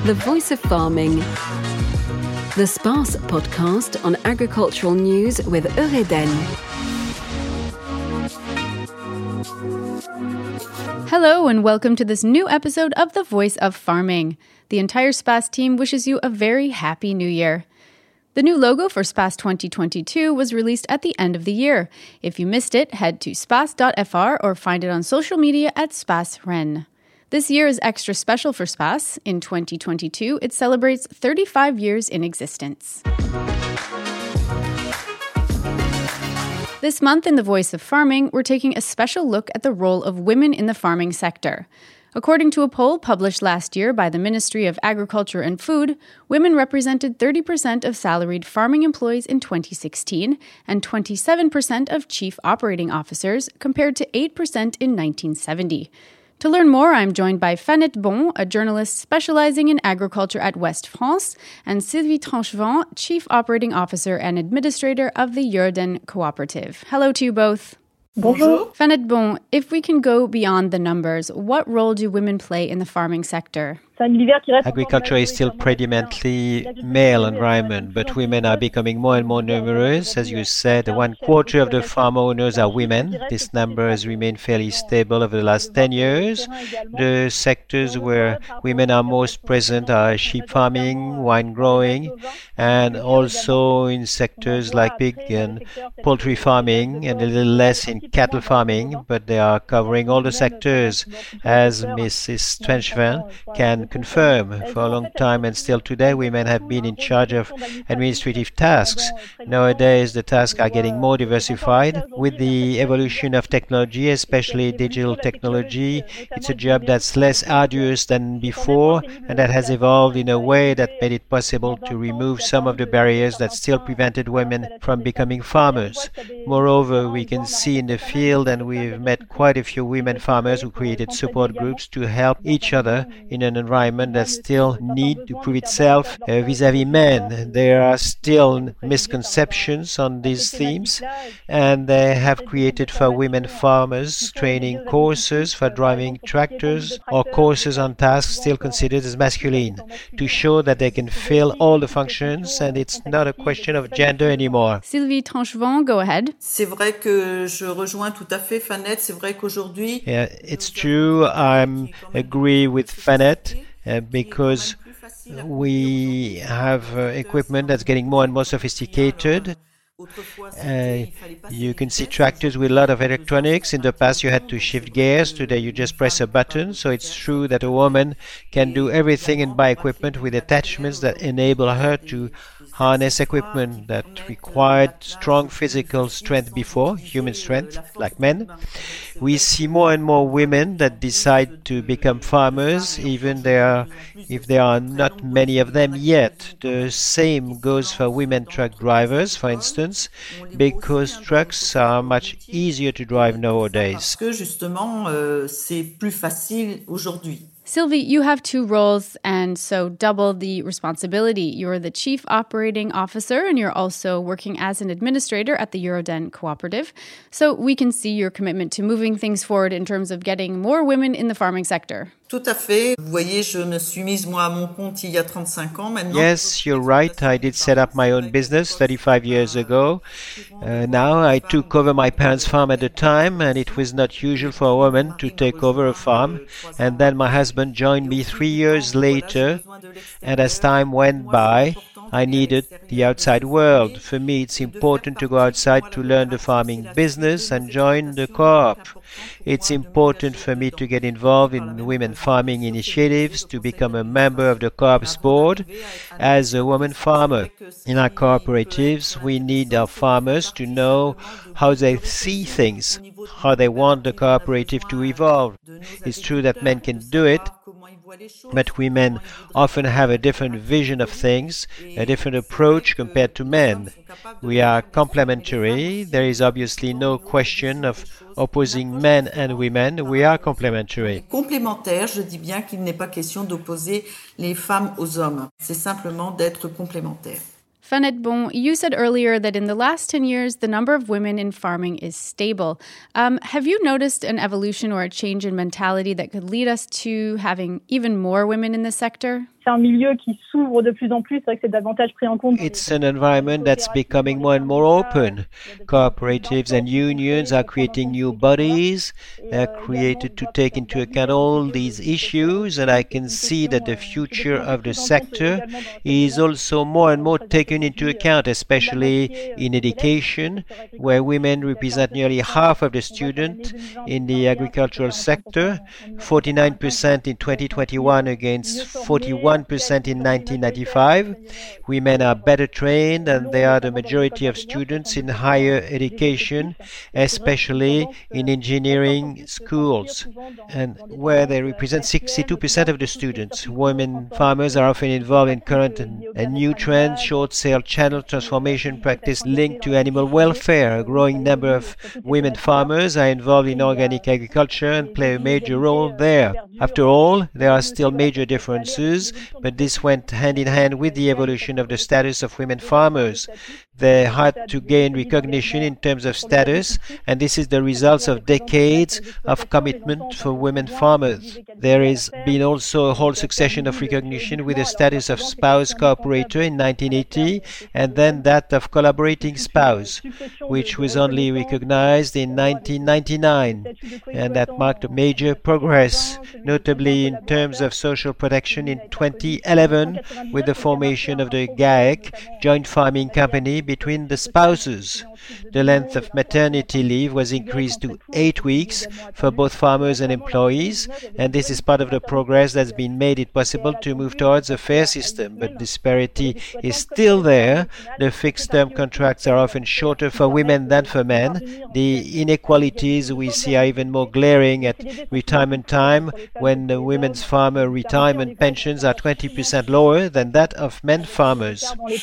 The Voice of Farming, the sparse podcast on agricultural news with Eureden. Hello and welcome to this new episode of The Voice of Farming. The entire SPAS team wishes you a very happy new year. The new logo for SPAS 2022 was released at the end of the year. If you missed it, head to spas.fr or find it on social media at SPASRen. This year is extra special for SPAS. In 2022, it celebrates 35 years in existence. This month in The Voice of Farming, we're taking a special look at the role of women in the farming sector. According to a poll published last year by the Ministry of Agriculture and Food, women represented 30% of salaried farming employees in 2016 and 27% of chief operating officers, compared to 8% in 1970. To learn more, I'm joined by Fanette Bon, a journalist specializing in agriculture at West France, and Sylvie Tranchevant, Chief Operating Officer and Administrator of the Eureden Cooperative. Hello to you both. Bonjour. Fanette Bon, if we can go beyond the numbers, what role do women play in the farming sector? Agriculture is still predominantly male environment, but women are becoming more and more numerous. As you said, 1/4 of the farm owners are women. This number has remained fairly stable over the last 10 years. The sectors where women are most present are sheep farming, wine growing, and also in sectors like pig and poultry farming, and a little less in cattle farming, but they are covering all the sectors, as Mrs. Tranchevant can confirm. For a long time and still today, women have been in charge of administrative tasks. Nowadays, the tasks are getting more diversified. With the evolution of technology, especially digital technology, it's a job that's less arduous than before, and that has evolved in a way that made it possible to remove some of the barriers that still prevented women from becoming farmers. Moreover, we can see in the field, and we've met quite a few women farmers who created support groups to help each other in an environment that still need to prove itself vis-à-vis men. There are still misconceptions on these themes, and they have created for women farmers training courses for driving tractors or courses on tasks still considered as masculine, to show that they can fill all the functions and it's not a question of gender anymore. Sylvie Tranchevant, go ahead. C'est vrai que je rejoins tout à fait Fanette. C'est vrai qu'aujourd'hui... Yeah, it's true. I agree with Fanette. Because we have equipment that's getting more and more sophisticated. You can see tractors with a lot of electronics. In the past you had to shift gears. Today you just press a button. So it's true that a woman can do everything and buy equipment with attachments that enable her to harness equipment that required strong physical strength before, human strength, like men. We see more and more women that decide to become farmers, even if there are not many of them yet. The same goes for women truck drivers, for instance, because trucks are much easier to drive nowadays. Parce que justement, c'est plus facile aujourd'hui. Sylvie, you have two roles and so double the responsibility. You're the Chief Operating Officer and you're also working as an administrator at the Eureden Cooperative. So we can see your commitment to moving things forward in terms of getting more women in the farming sector. Tout à fait. Vous voyez, je me suis mise moi à mon compte il y a 35 ans maintenant. Yes, you're right. I did set up my own business 35 years ago. Now I took over my parents' farm at the time, and it was not usual for a woman to take over a farm. And then my husband joined me 3 years later, and as time went by, I needed the outside world. For me, it's important to go outside to learn the farming business and join the co-op. It's important for me to get involved in women farming initiatives, to become a member of the co-op's board as a woman farmer. In our cooperatives, we need our farmers to know how they see things, how they want the cooperative to evolve. It's true that men can do it, but women often have a different vision of things, a different approach compared to men. We are complementary. There is obviously no question of opposing men and women. We are complementary. Complémentaire, je dis bien qu'il n'est pas question d'opposer les femmes aux hommes. C'est simplement d'être complémentaires. Fanette Bon, you said earlier that in the last 10 years, the number of women in farming is stable. Have you noticed an evolution or a change in mentality that could lead us to having even more women in this sector? c'est un milieu qui s'ouvre de plus en plus, c'est vrai que c'est davantage pris en compte. It's an environment that's becoming more and more open. Cooperatives and unions are creating new bodies. They're created to take into account all these issues, and I can see that the future of the sector is also more and more taken into account, especially in education, where women represent nearly half of the students in the agricultural sector, 49% in 2021 against 41% in 1995. Women are better trained and they are the majority of students in higher education, especially in engineering schools, and where they represent 62% of the students. Women farmers are often involved in current and new trends, short sale channel transformation practice linked to animal welfare. A growing number of women farmers are involved in organic agriculture and play a major role there. After all, there are still major differences, but this went hand in hand with the evolution of the status of women farmers. They had to gain recognition in terms of status, and this is the result of decades of commitment for women farmers. There has been also a whole succession of recognition with the status of spouse cooperator in 1980, and then that of collaborating spouse, which was only recognized in 1999, and that marked a major progress, notably in terms of social protection in 2011 with the formation of the GAEC, Joint Farming Company, between the spouses. The length of maternity leave was increased to 8 weeks for both farmers and employees, and this is part of the progress that's been made it possible to move towards a fair system. But disparity is still there. The fixed-term contracts are often shorter for women than for men. The inequalities we see are even more glaring at retirement time, when the women's farmer retirement pensions are 20% lower than that of men farmers.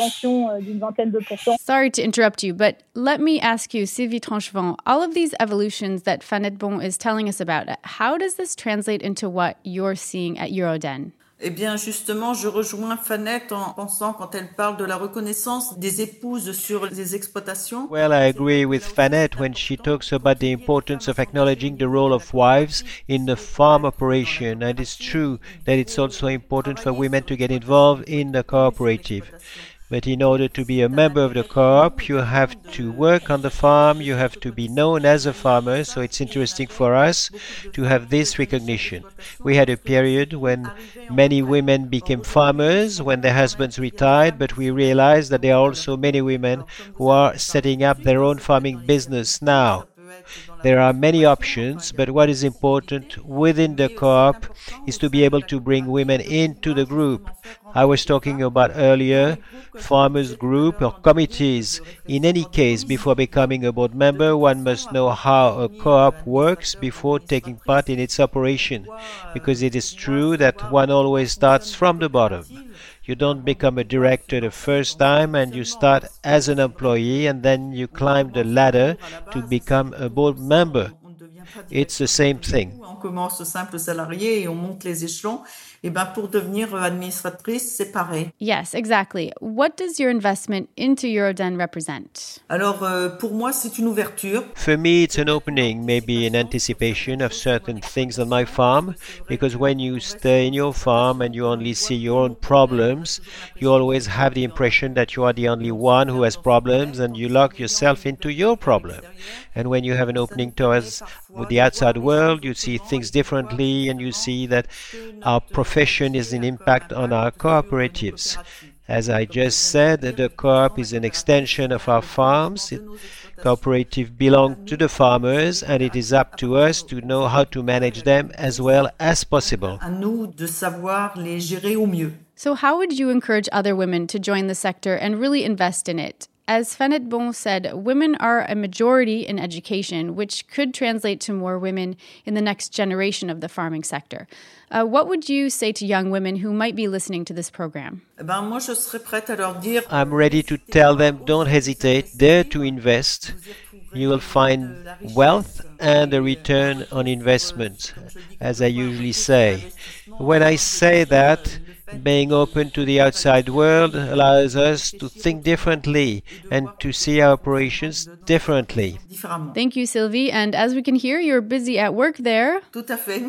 Sorry to interrupt you, but let me ask you, Sylvie Tranchevent, all of these evolutions that Fanette Bon is telling us about, how does this translate into what you're seeing at Euroden? Eh bien, justement, je rejoins Fanette en pensant, quand elle parle de la reconnaissance des épouses sur les exploitations. Well, I agree with Fanette when she talks about the importance of acknowledging the role of wives in the farm operation. And it's true that it's also important for women to get involved in the cooperative. But in order to be a member of the co-op, you have to work on the farm, you have to be known as a farmer, so it's interesting for us to have this recognition. We had a period when many women became farmers when their husbands retired, but we realized that there are also many women who are setting up their own farming business now. There are many options, but what is important within the co-op is to be able to bring women into the group. I was talking about earlier farmers group or committees. In any case, before becoming a board member, one must know how a co-op works before taking part in its operation, because it is true that one always starts from the bottom. You don't become a director the first time, and you start as an employee and then you climb the ladder to become a board member. It's the same thing. On commence simple salarié et on monte les échelons. Et ben pour devenir administratrice, c'est pareil. Yes, exactly. What does your investment into Euroden represent? Alors pour moi, c'est une ouverture. For me, it's an opening, maybe an anticipation of certain things on my farm, because when you stay in your farm and you only see your own problems, you always have the impression that you are the only one who has problems and you lock yourself into your problem. And when you have an opening towards the outside world, you see things differently and you see that our profession is an impact on our cooperatives. As I just said, the co-op is an extension of our farms. Cooperative belong to the farmers, and it is up to us to know how to manage them as well as possible. À nous de savoir les gérer au mieux. So how would you encourage other women to join the sector and really invest in it? As Fanette Bon said, women are a majority in education, which could translate to more women in the next generation of the farming sector. What would you say to young women who might be listening to this program? Eh ben moi, je serais prête à leur dire. I'm ready to tell them, don't hesitate, dare to invest. You will find wealth and a return on investment, as I usually say. When I say that, being open to the outside world allows us to think differently and to see our operations differently. Thank you, Sylvie. And as we can hear, you're busy at work there. Tout à fait.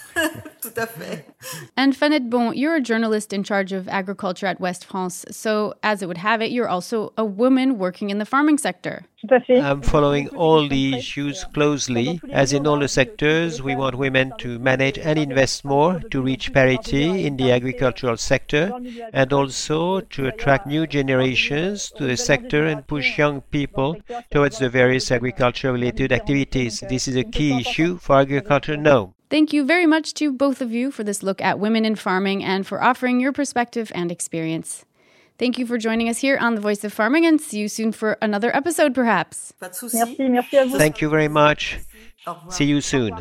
Tout à fait. And Fanette Bon, you're a journalist in charge of agriculture at West France. So, as it would have it, you're also a woman working in the farming sector. Tout à fait. I'm following all the issues closely. As in all the sectors, we want women to manage and invest more to reach parity in the agricultural sector and also to attract new generations to the sector and push young people towards the various agriculture-related activities. This is a key issue for agriculture now. Thank you very much to both of you for this look at women in farming and for offering your perspective and experience. Thank you for joining us here on The Voice of Farming, and see you soon for another episode, perhaps. Pas de souci. Merci à vous. Thank you very much. Au revoir. See you soon.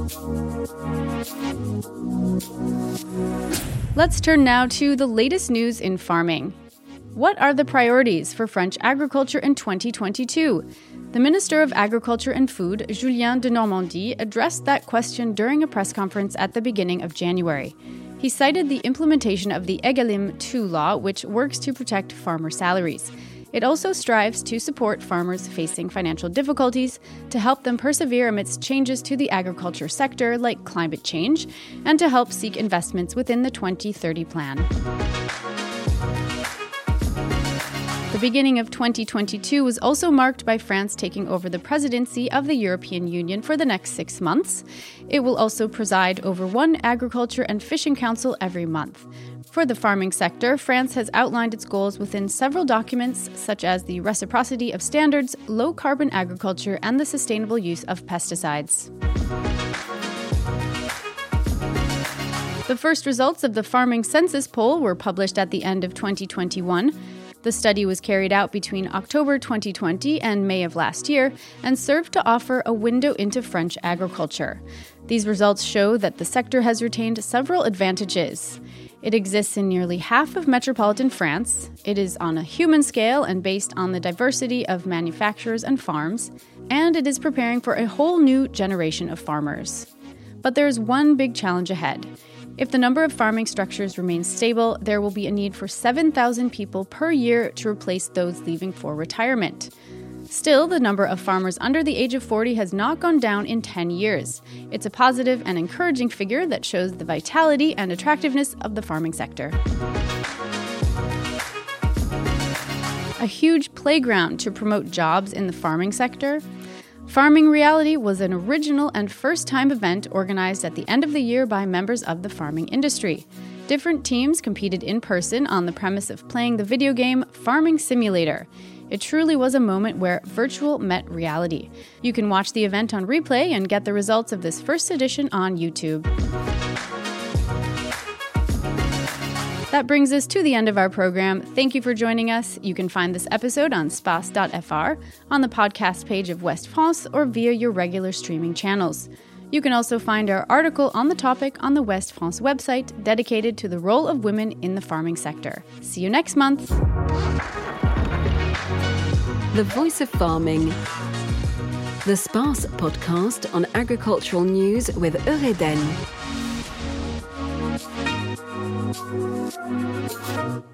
Let's turn now to the latest news in farming. What are the priorities for French agriculture in 2022? The Minister of Agriculture and Food, Julien de Normandie, addressed that question during a press conference at the beginning of January. He cited the implementation of the Egalim 2 law, which works to protect farmer salaries. It also strives to support farmers facing financial difficulties, to help them persevere amidst changes to the agriculture sector like climate change, and to help seek investments within the 2030 plan. The beginning of 2022 was also marked by France taking over the presidency of the European Union for the next 6 months. It will also preside over one agriculture and fishing council every month. For the farming sector, France has outlined its goals within several documents, such as the reciprocity of standards, low-carbon agriculture, and the sustainable use of pesticides. The first results of the farming census poll were published at the end of 2021. The study was carried out between October 2020 and May of last year and served to offer a window into French agriculture. These results show that the sector has retained several advantages. It exists in nearly half of metropolitan France, it is on a human scale and based on the diversity of manufacturers and farms, and it is preparing for a whole new generation of farmers. But there is one big challenge ahead. If the number of farming structures remains stable, there will be a need for 7,000 people per year to replace those leaving for retirement. Still, the number of farmers under the age of 40 has not gone down in 10 years. It's a positive and encouraging figure that shows the vitality and attractiveness of the farming sector. A huge playground to promote jobs in the farming sector. Farming Reality was an original and first-time event organized at the end of the year by members of the farming industry. Different teams competed in person on the premise of playing the video game Farming Simulator. It truly was a moment where virtual met reality. You can watch the event on replay and get the results of this first edition on YouTube. That brings us to the end of our program. Thank you for joining us. You can find this episode on space.fr, on the podcast page of West France, or via your regular streaming channels. You can also find our article on the topic on the West France website dedicated to the role of women in the farming sector. See you next month. The Voice of Farming. The Sparse podcast on agricultural news with Eureden.